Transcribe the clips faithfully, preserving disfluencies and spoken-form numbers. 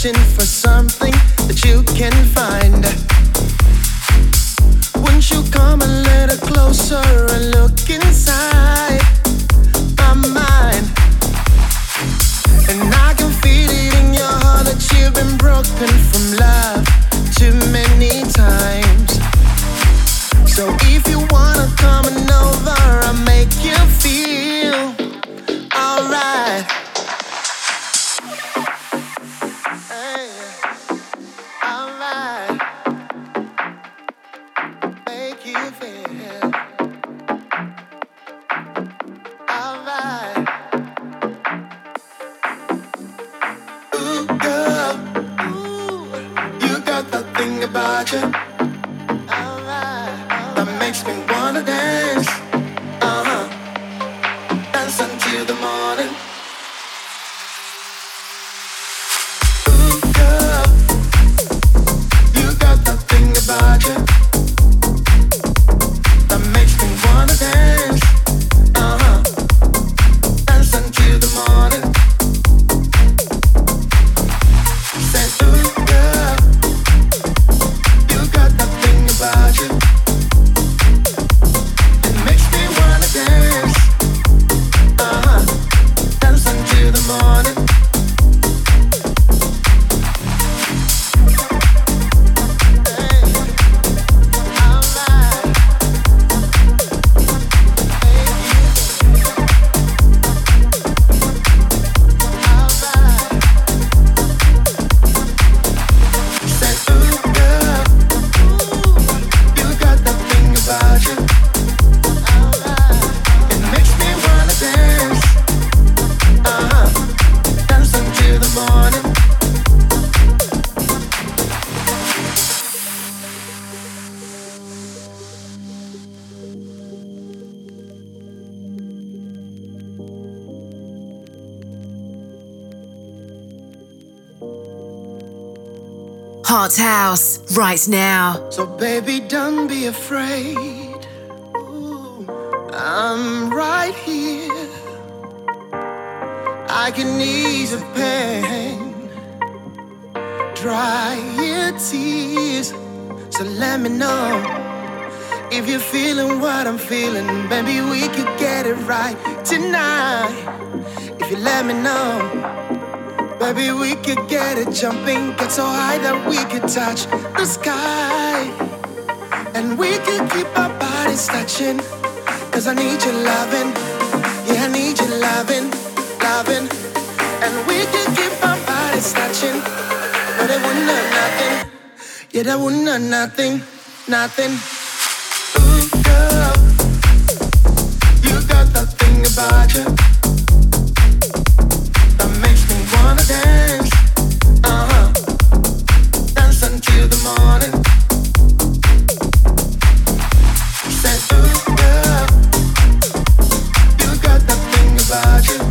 searching for something that you can find. Won't you come a little closer and look inside my mind? And I can feel it in your heart that you've been broken from love too many times. So if you wanna come on over, I'll make you feel alright. Hey, alright. Make you feel alright. Ooh, girl, ooh, you got that thing about you. That makes me wanna dance, uh-huh, dance until the morning. Ooh, girl, you got that thing about you that makes me wanna dance, uh-huh, dance until the morning. Say, ooh, girl, you got that thing about you. Morning. Hot House, right now. So baby, don't be afraid. Ooh, I'm right here. I can ease the pain, dry your tears. So let me know if you're feeling what I'm feeling. Baby, we could get it right tonight. If you let me know, baby, we could get it jumping, get so high that we could touch the sky. And we could keep our bodies touching, cause I need your loving. Yeah, I need your loving, loving. And we could keep our bodies touching, but it wouldn't hurt nothing. Yeah, that wouldn't hurt nothing, nothing. Ooh, girl, you got that thing about you wanna dance, uh-huh, dance until the morning. Said, ooh, girl, you got that thing about you.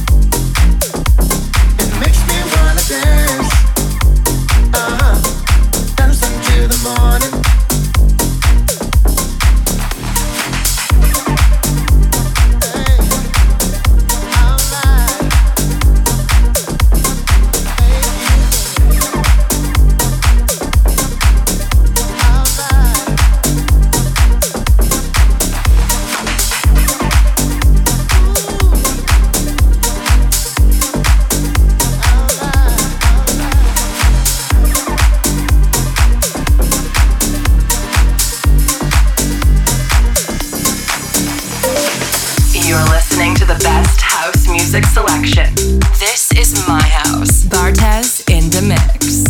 It makes me wanna dance, uh-huh, dance until the morning. Music selection. This is my house. Bartez in the mix.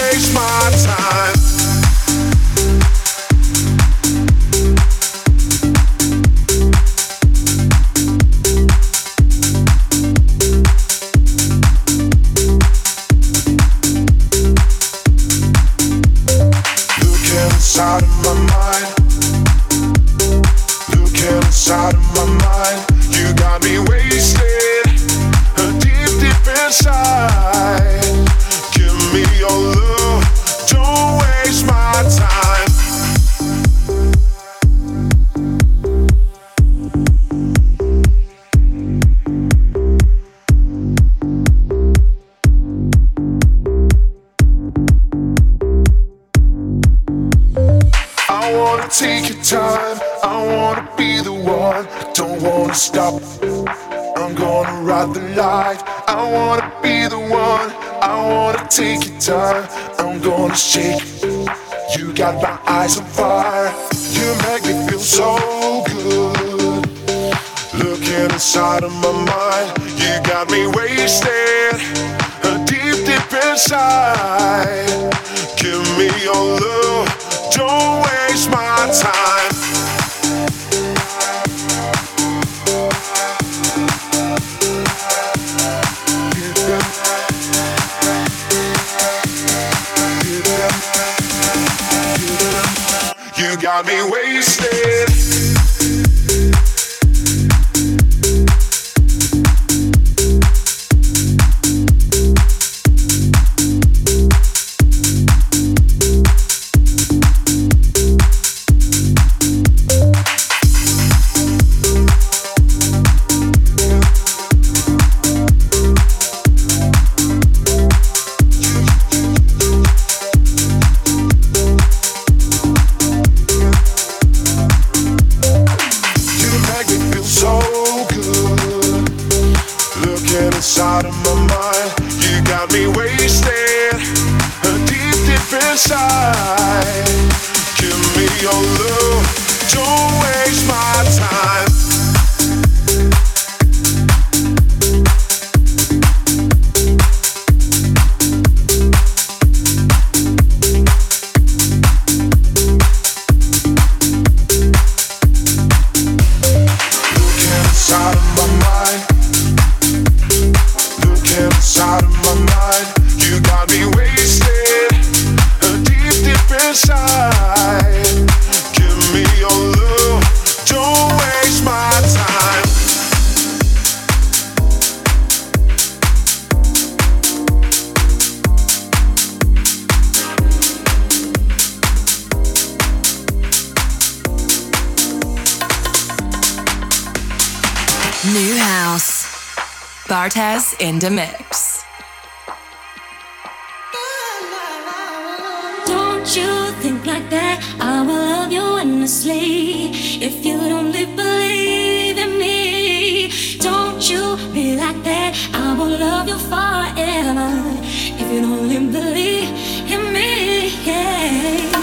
Time. take your time. I wanna be the one. Don't wanna stop. I'm gonna ride the light. I wanna be the one. I wanna take your time. I'm gonna shake. You got my eyes on fire. You make me feel so good. Looking inside of my mind. You got me wasted. Deep, deep inside. Give me your love. Don't waste my time. You got me wasted. Inside of my mind, you got me wasted. Deep, deep inside. Give me your love. Don't waste my time. Looking inside of my mind. Inside of my mind, you got me wasted. Deep, deep inside. Give me your love. Don't waste my time. New House. Bartez in the mix. Don't you think like that? I will love you endlessly. If you don't believe in me, don't you be like that? I will love you forever. If you don't believe in me, yeah.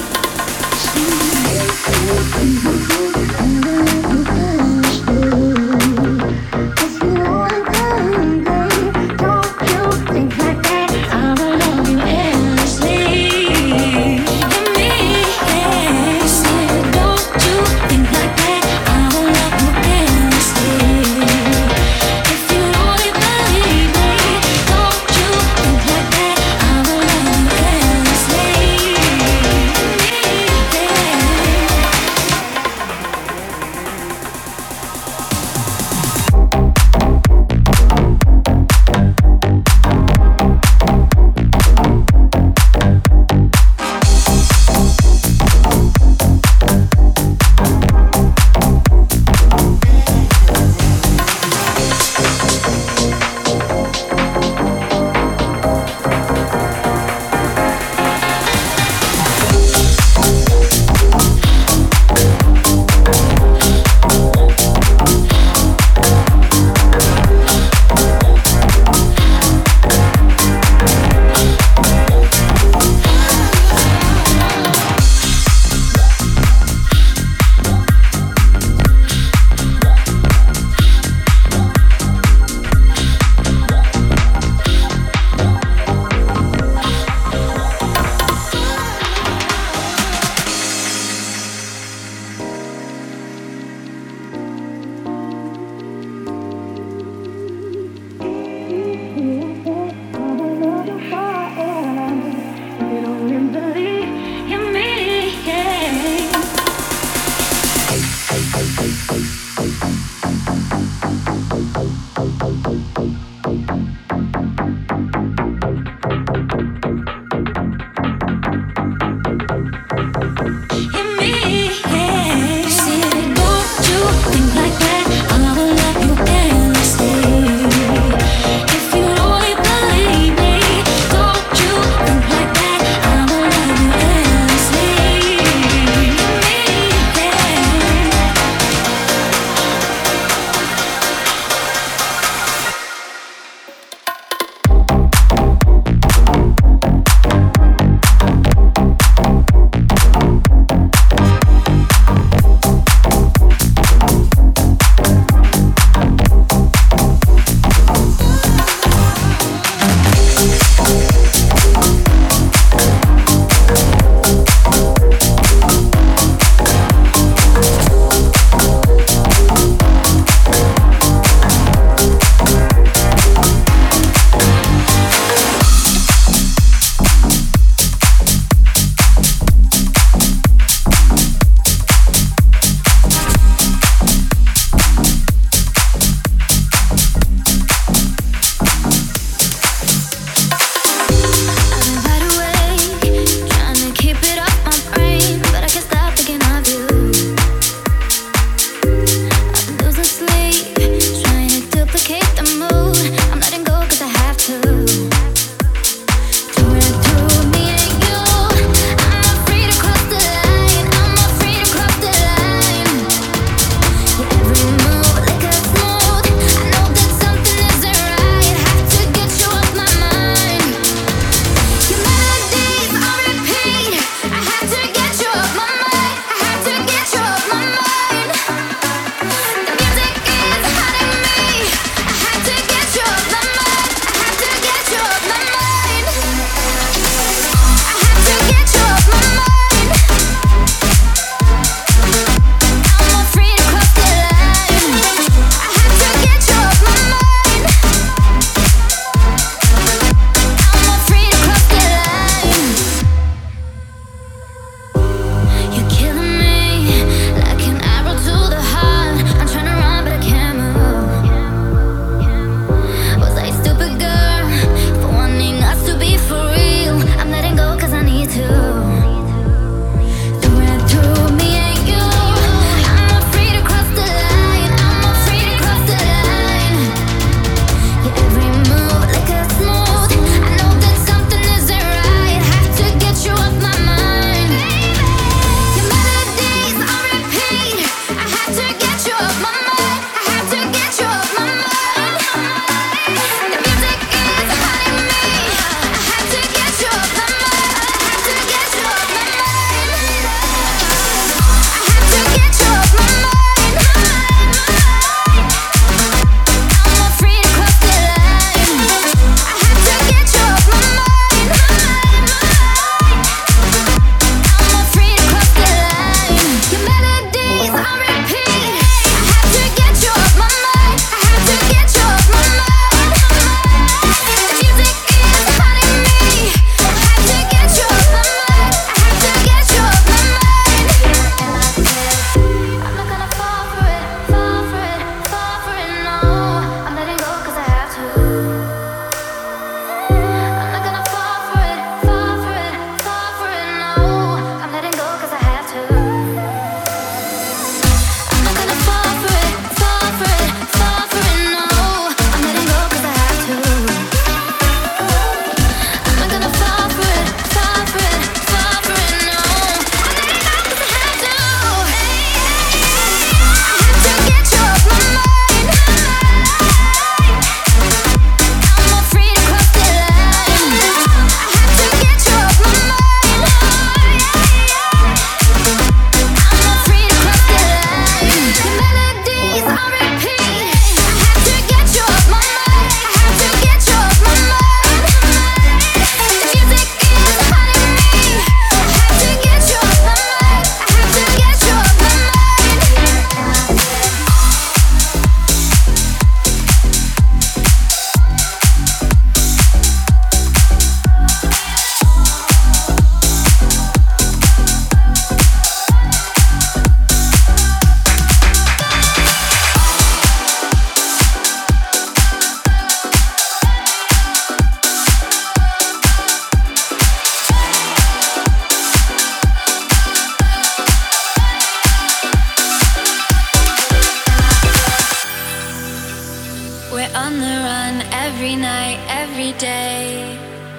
every night, every day.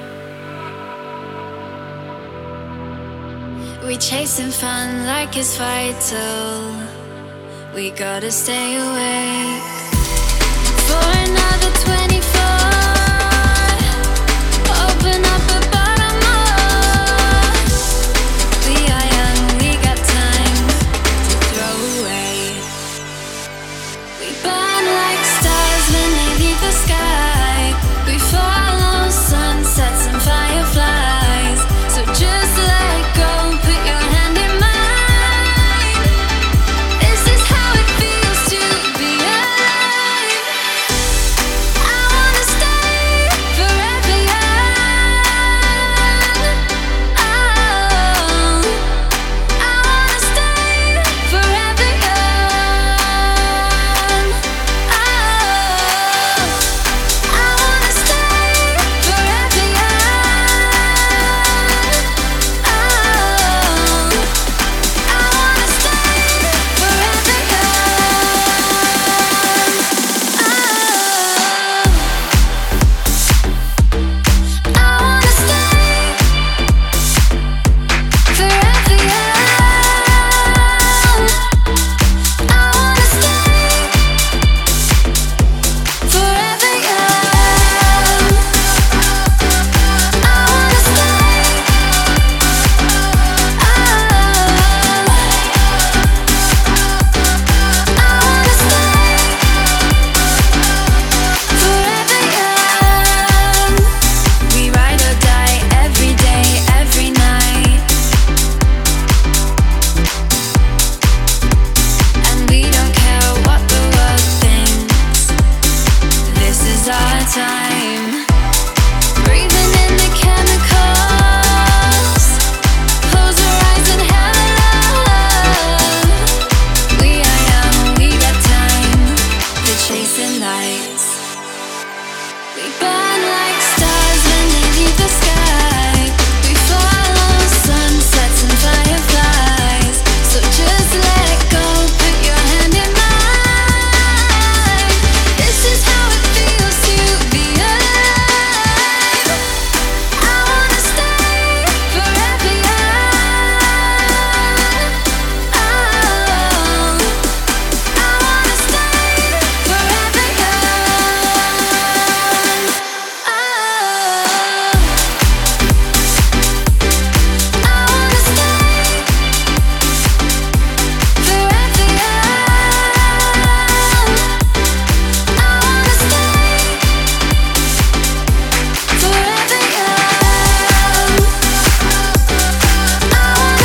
We chasing fun like it's vital. We gotta stay awake for another twenty-four. Open up a bottom up. We are young, we got time to throw away. We burn like stars when they leave the sky. We follow sunsets and fireflies. So just let go, put your hand in mine. This is how it feels to be alive. I wanna stay forever young. Oh, I wanna stay forever young. Oh, I wanna stay forever young. Oh, I wanna stay forever young. Oh, I wanna stay forever young. I wanna stay forever young. I wanna stay. Oh, I wanna stay forever young. We ride or die every day, every night, and we don't care what the world thinks. This is our time. Breathing in the chemicals. Close our eyes and have a love. We are young, we got time to chasing lights. We burn like stars when they leave the sky. We follow sunsets and fireflies. So just let go, put your hand in mine. This is how it feels to be alive. I wanna stay forever young. Oh, I wanna stay forever young. Oh, I wanna stay forever young. I wanna stay forever young. I wanna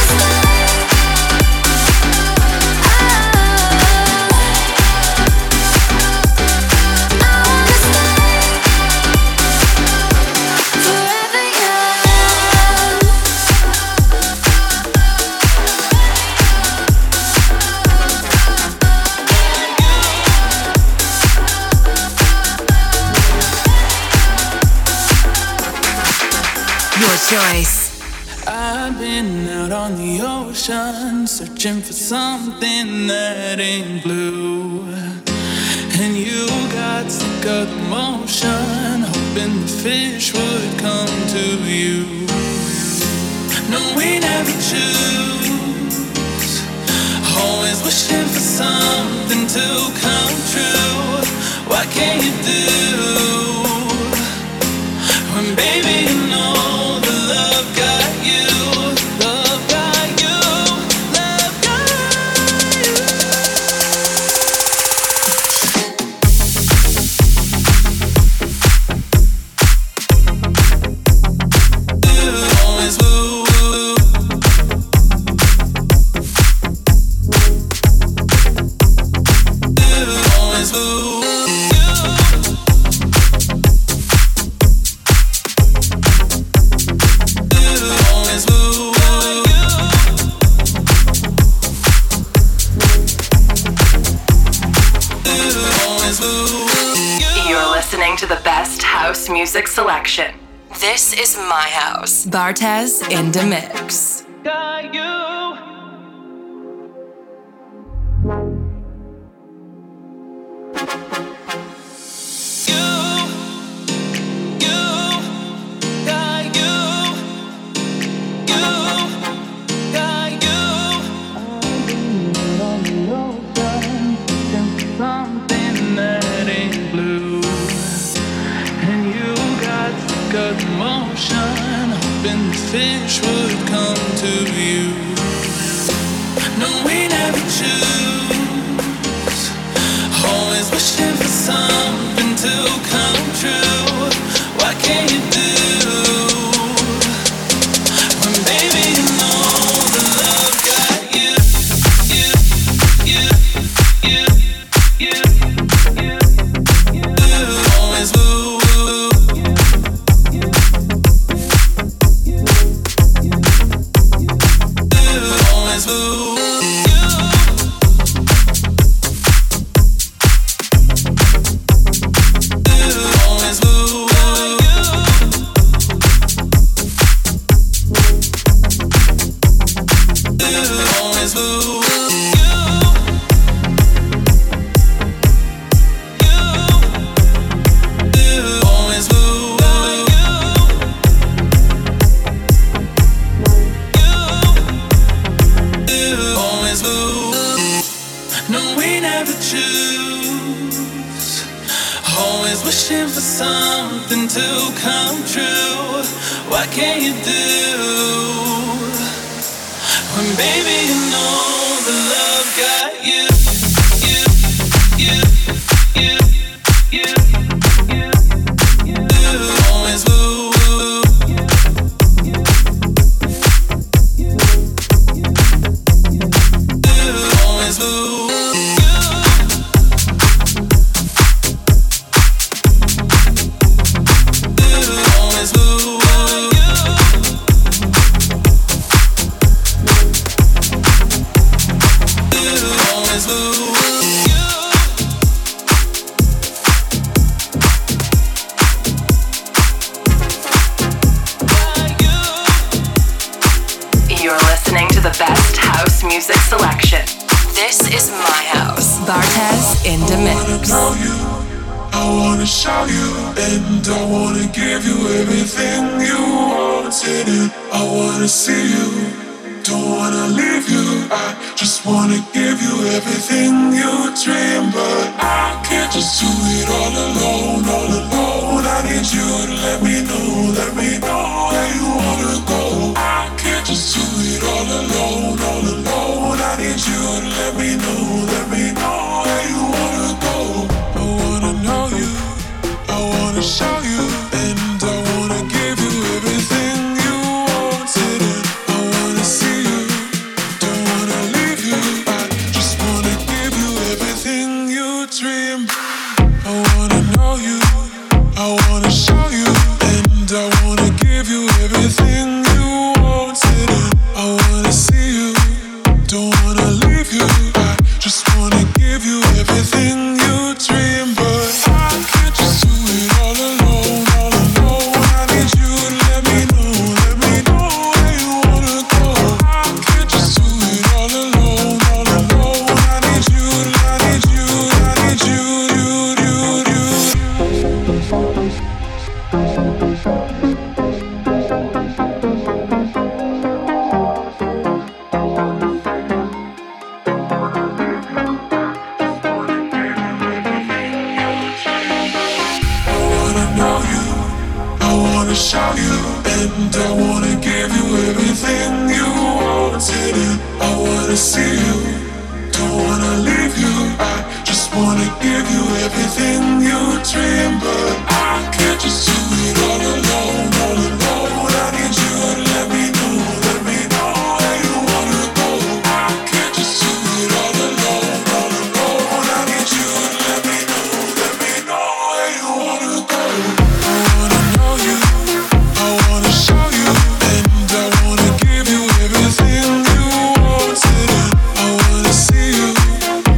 Your choice. I've been out on the ocean, searching for something that ain't blue. And you got sick of the motion, hoping the fish would come to you. No, we never choose, always wishing for something to come true. What can you do when, baby, you know the love got you, love got you, love got you. Always woo. Always woo. You're listening to the best house music selection. This is my house. Bartez in the mix. Got you. You got the motion, hoping the fish would come to you. No, we never choose. Always wishing for something to come true. What can you do?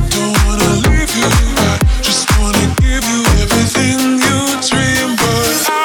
Just wanna give you everything you dream, but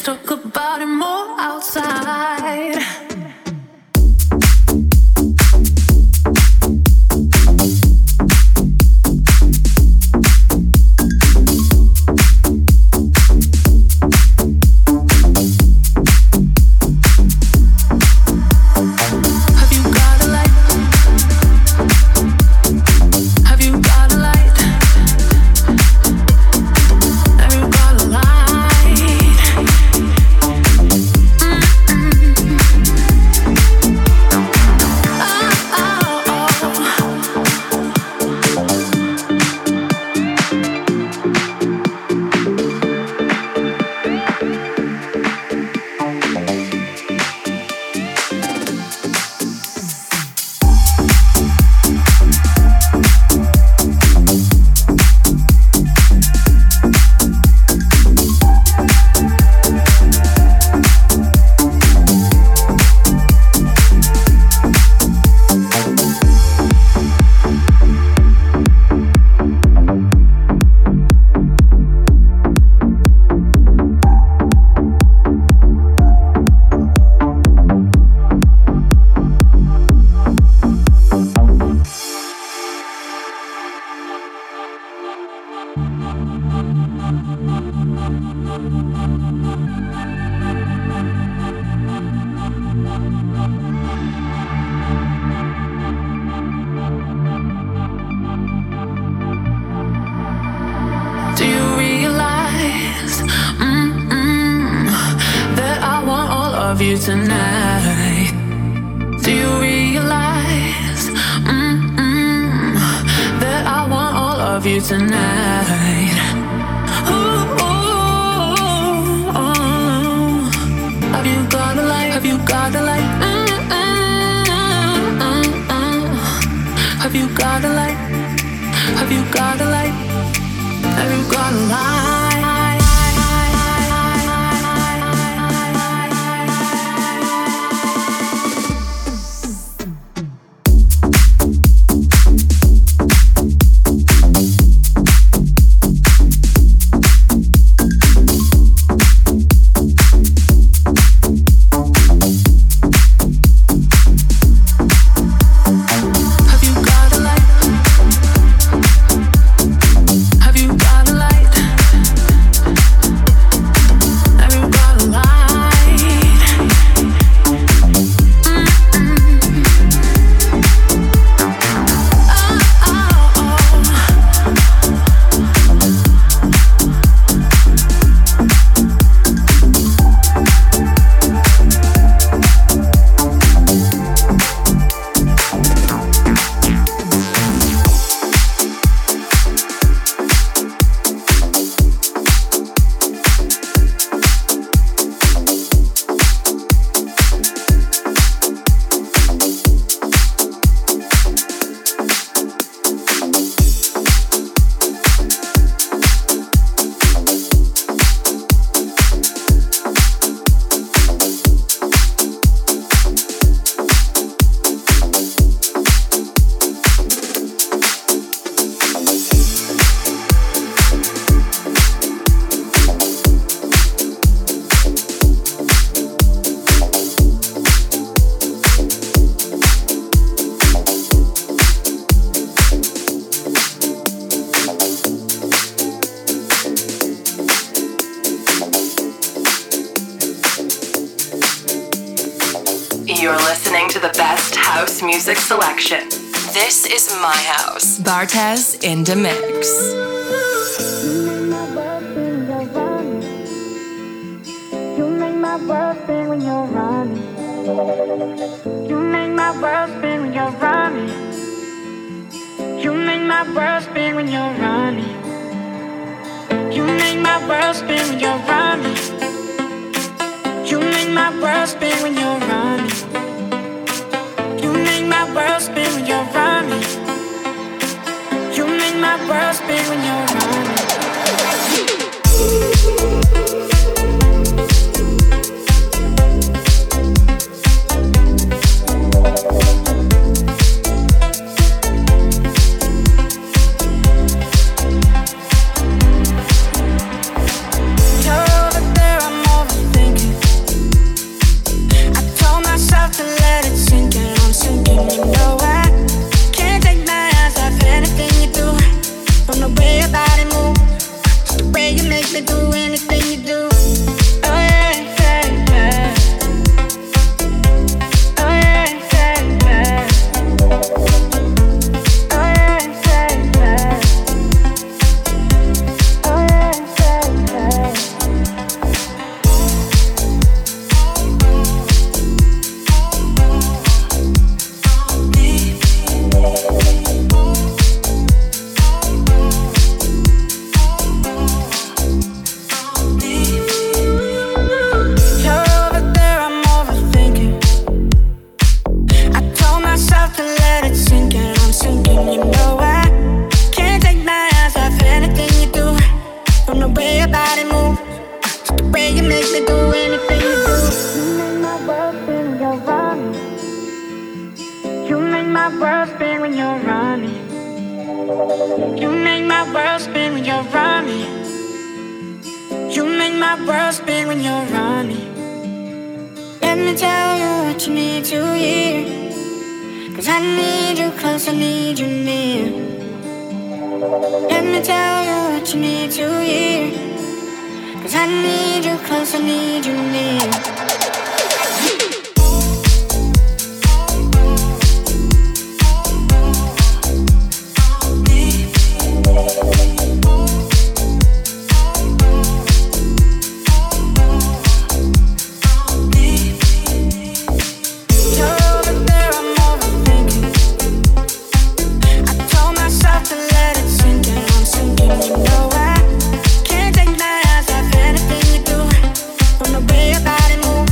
talk about it more outside. Tonight, do you realize mm-mm, that I want all of you tonight? Ooh, ooh, ooh. Have you got a light? Have you got a light? Mm-mm, mm-mm. Have you got a light? Have you got a light? Have you got a light? You're listening to the best house music selection. This is my house. Bartez in the mix. You make my world spin when you're running. You make my world spin when you're running. You make my world spin when you're running. You make my world spin when you're running. You make my world spin when you're running. You make my world spin when you're running. You make my world spin when you're running. You're over there, I'm over there. wanna do anything you do. You make my world spin when you're running. You make my world spin when you're running. You make my world spin when you're running. You make my world spin when you're running. Let me tell you what you need to hear. Cause I need you close, I need you near. Let me tell you what you need to hear. Cause I need you close, I need you near. Body move.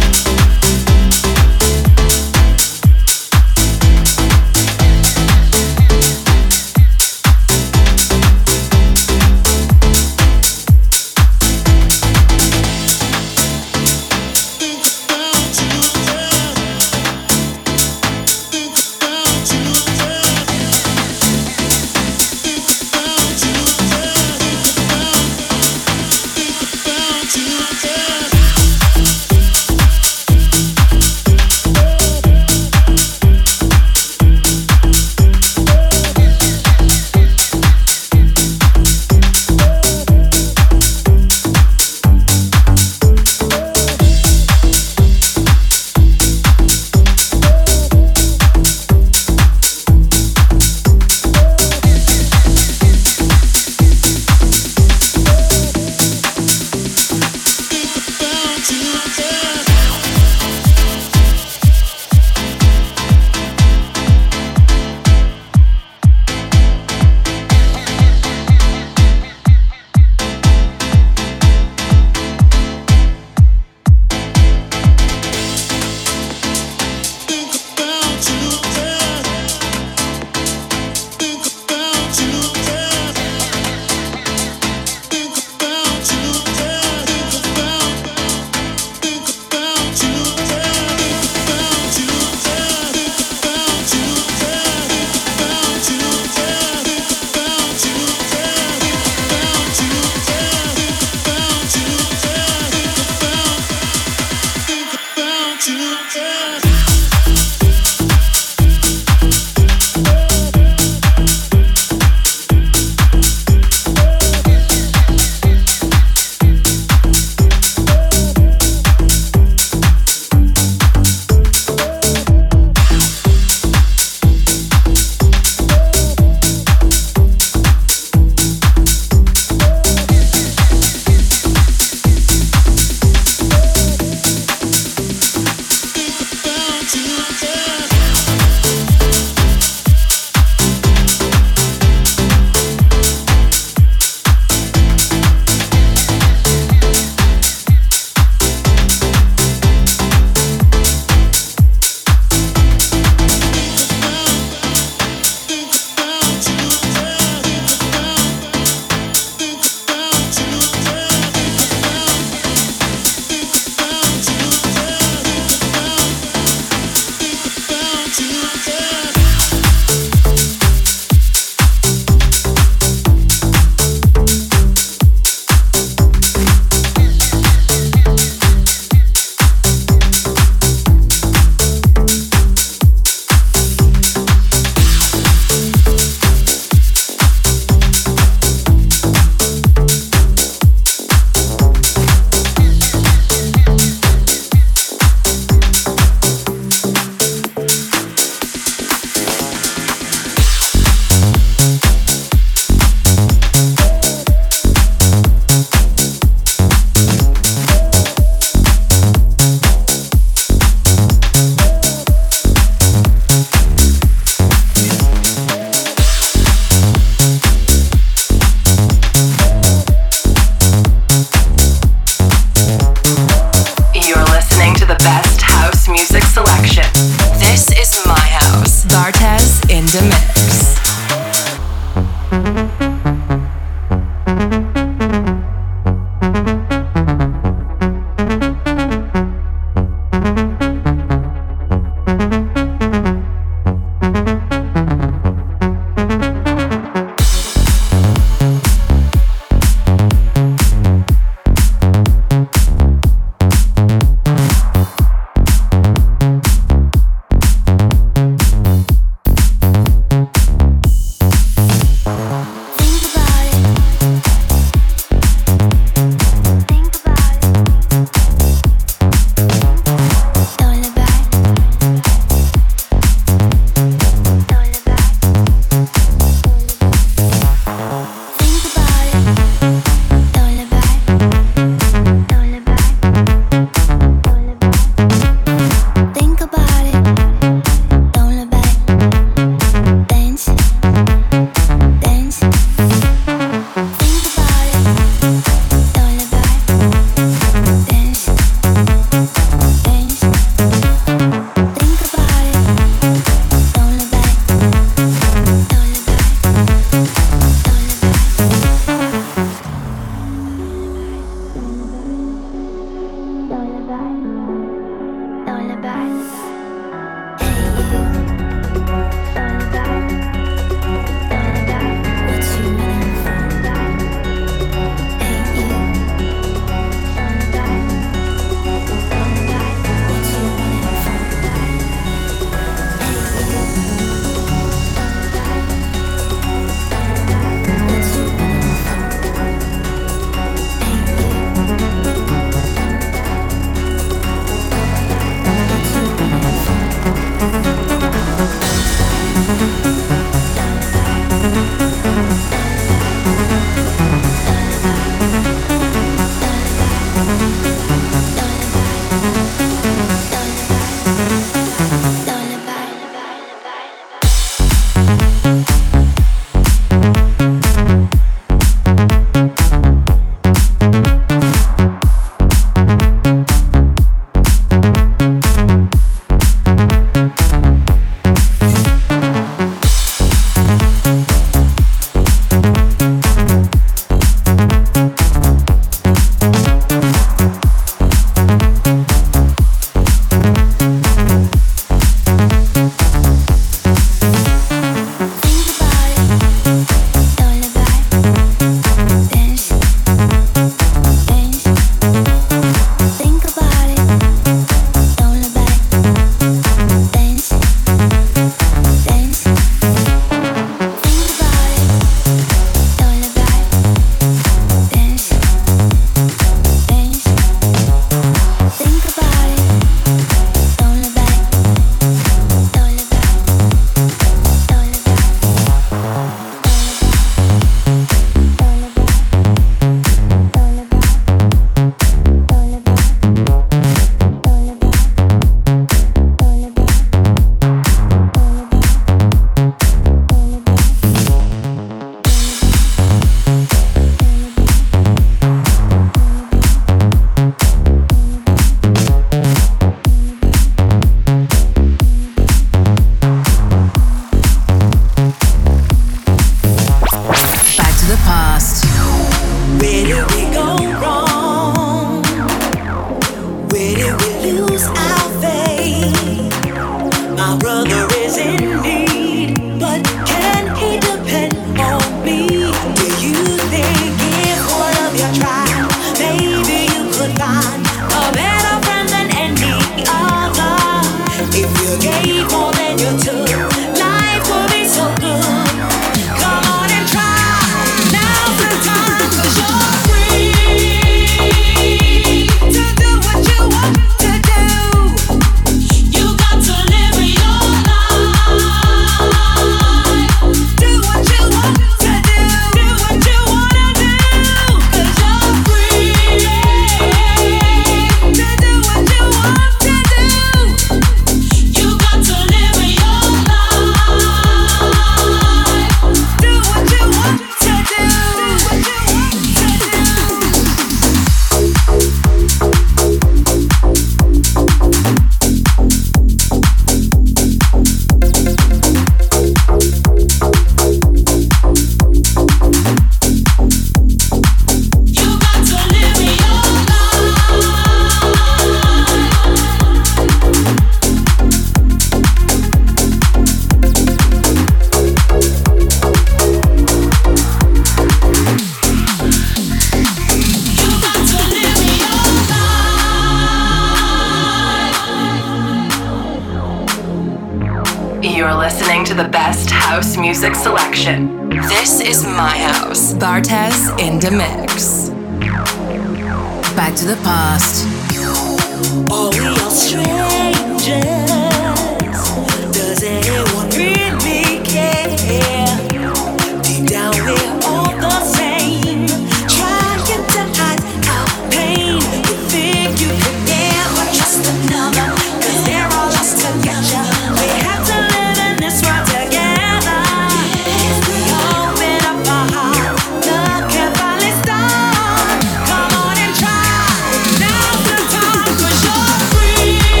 You're listening to the best house music selection. This is my house. Bartez in the mix. Back to the past. Are we all strangers? Does anyone really care? Deep down we're all the same. Trying to hide our pain. You think you could never trust another, 'cause they're all lost together. We have to live in this world together. If we open up our hearts, love can finally start. Come on and try. Now's the time, 'cause you're free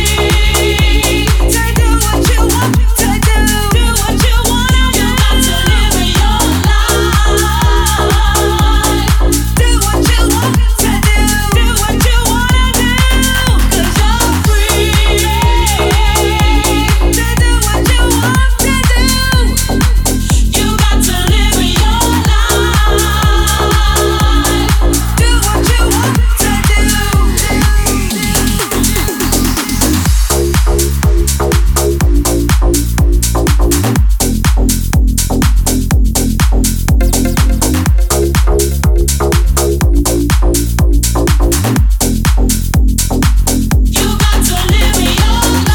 to do what you want to do. Do what you wanna do. You got to live your life. Do what you want to do. Do what you wanna do. 'Cause you're free to do what you want to do. You got to live your life. Do what you want to do. You got to live your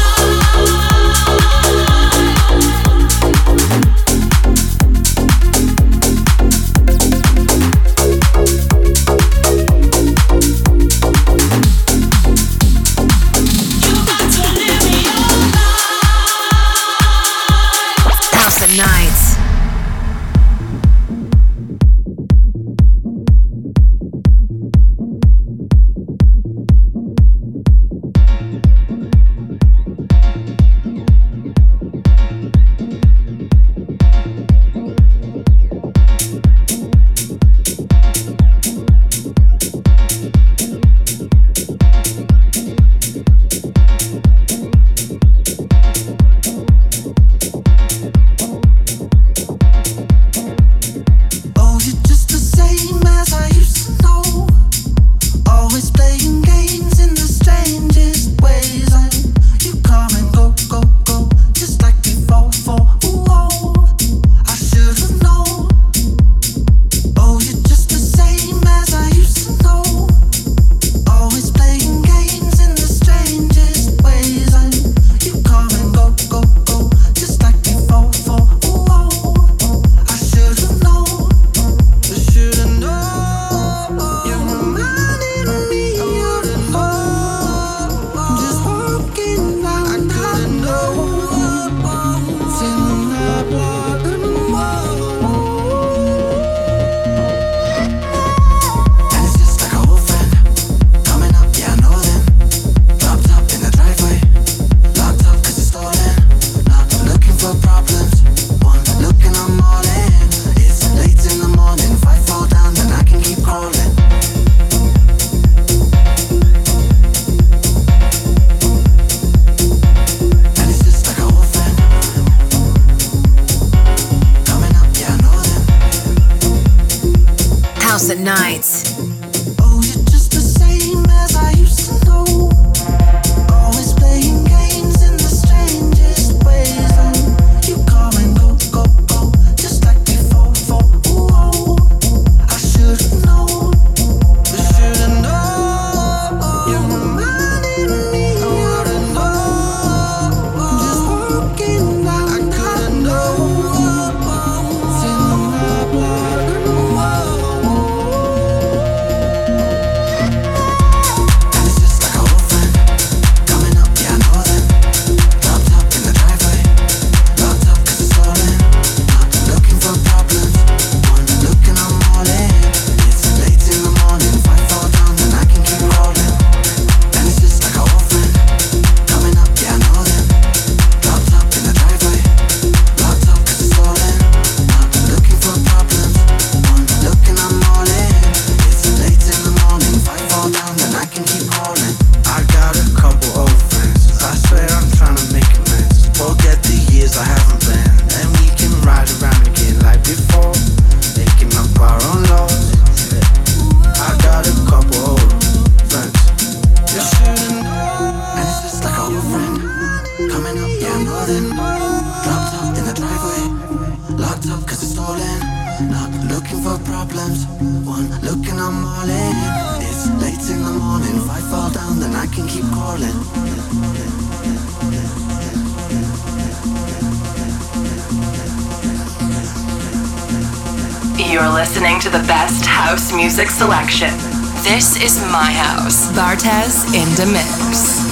House at night. Oh, you're just the same as I used to know. Always playing games in the strangest ways. And you come and go, go, go, just like before. For oh, I should have known. Oh, you're just the same as I used to know. Always playing games in the strangest ways. And you come and go, go, go, just like before. For oh, I should have known. I should have known. You reminded me of the love. I'm just walking around. I couldn't know. Feeling like blood in the wall. And it's just like a old friend coming up. Yeah, I know them. Locked up in the driveway. Locked up 'cause it's stolen. Not looking for problems. One looking, I'm all in. It's late in the morning. If I fall down, then I can keep crawling. And it's just like a old friend coming up. Yeah, I know them. House at night. Oh, you're just the same as I used to know. Always playing games in the strangest ways. And you come and go, go, go, just like before. For oh, I should have known. I should have known. You reminded me of the love. I'm just walking around. I couldn't know. Feeling like blood in the wall. And it's just like a old friend coming up. Yeah, I know them. Locked up in the driveway. Locked up 'cause it's stolen. Not looking for problems. One looking, I'm all in. It's late in the morning. If I fall down, then I can keep crawling. And it's just like a old friend coming up. Yeah, I know them. Locked up in the driveway. Locked up 'cause it's stolen. Not looking for problems. One looking, I'm all in. It's late in the morning. If I fall down, then I can keep crawling. I got a couple old friends. I swear I'm trying to make amends. Forget the years I haven't been. And we can ride around again like before. Making up our own laws. I got a couple old friends. You shouldn't know. And it's just like a old friend coming up. Yeah, I know them. falling, not looking for problems. One look and I'm all in. It's late in the morning, if I fall down then I can keep calling. You're listening to the best house music selection. This is my house. Bartez in the mix.